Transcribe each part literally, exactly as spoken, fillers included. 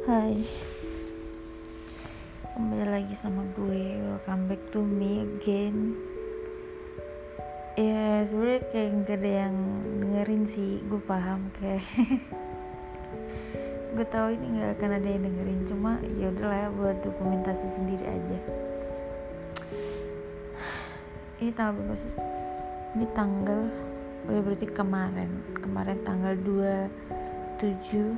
Hai, kembali lagi sama gue. Welcome back to me again. Ya sebenarnya kayak gak ada yang dengerin sih, gue paham kayak gue tahu ini nggak akan ada yang dengerin, cuma ya udahlah ya, buat dokumentasi sendiri aja. Ini tanggal berapa sih? Ini tanggal, oh ya berarti kemarin, kemarin tanggal dua puluh tujuh.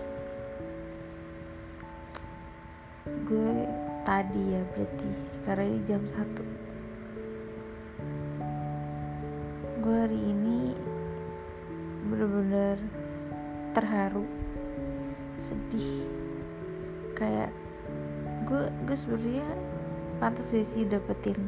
Gue tadi ya berarti, karena ini jam satu. Gue hari ini bener-bener terharu, sedih, kayak gue gue sebenarnya pantas sih sih dapetin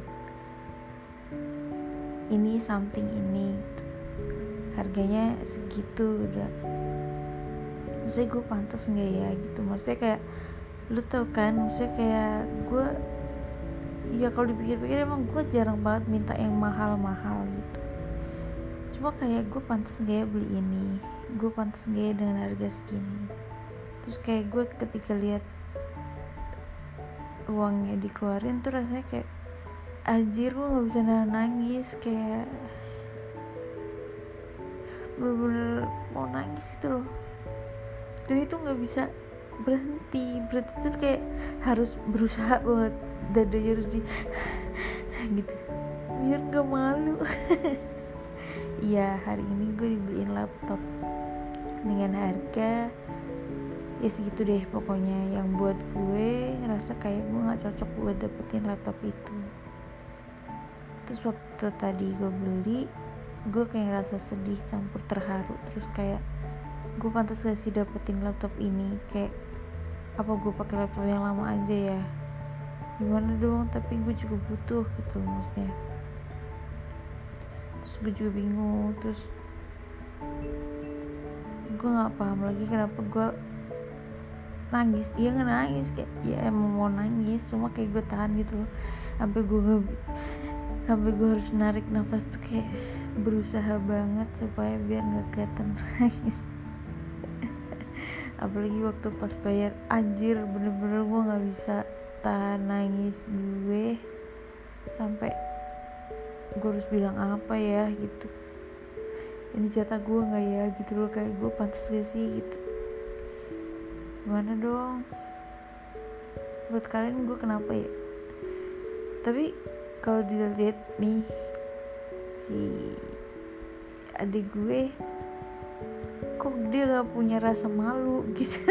ini something ini gitu. Harganya segitu udah, maksudnya gue pantas nggak ya gitu, maksudnya kayak lu tau kan, maksudnya kayak gue ya kalau dipikir-pikir emang gue jarang banget minta yang mahal-mahal gitu, cuma kayak gue pantas nggak ya beli ini, gue pantas nggak ya dengan harga segini. Terus kayak gue ketika lihat uangnya dikeluarin tuh rasanya kayak anjir, gue nggak bisa nahan nangis, kayak bener-bener mau nangis gitu loh. Dan itu nggak bisa berhenti, berarti tuh kayak harus berusaha banget, dadanya harus di gitu biar nggak malu. Iya, hari ini gue dibeliin laptop dengan harga ya segitu deh pokoknya, yang buat gue ngerasa kayak gue nggak cocok buat dapetin laptop itu. Terus waktu tadi gue beli, gue kayak ngerasa sedih campur terharu, terus kayak gue pantas gak sih dapetin laptop ini, kayak apa gue pakai laptop yang lama aja ya, gimana dong, tapi gue juga butuh gitu maksudnya. Terus gue juga bingung, terus gue nggak paham lagi kenapa gue nangis. Iya nggak nangis, kayak ya emang mau nangis, cuma kayak gue tahan gitu loh, sampai gue sampai gue harus narik nafas tuh, kayak berusaha banget supaya biar nggak kelihatan nangis. Apalagi waktu pas bayar, anjir bener-bener gue nggak bisa tahan nangis gue, sampai gue harus bilang apa ya gitu, ini jatah gue nggak ya gitu loh, kayak gue pantas gak sih gitu. Gimana dong buat kalian, gue kenapa ya? Tapi kalau dilihat nih, si adik gue kok dia gak punya rasa malu gitu.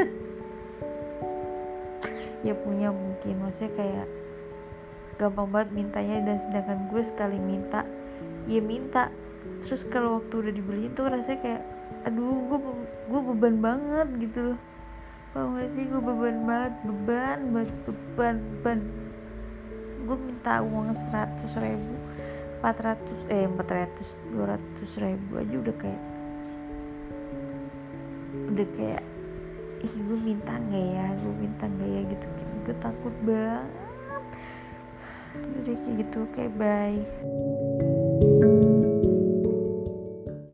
Ya punya mungkin, maksudnya kayak gampang banget mintanya, dan sedangkan gue sekali minta ya minta, terus kalau waktu udah dibeliin tuh rasanya kayak aduh, gue gue beban banget gitu loh. Tau gak sih, gue beban banget, beban banget, beban beban gue minta uang seratus ribu, empat ratus eh empat ratus dua ratus ribu aja udah kayak udah kayak ih, gue minta nggak ya gue minta nggak ya gitu, gue takut banget. Udah kayak gitu, kayak bye.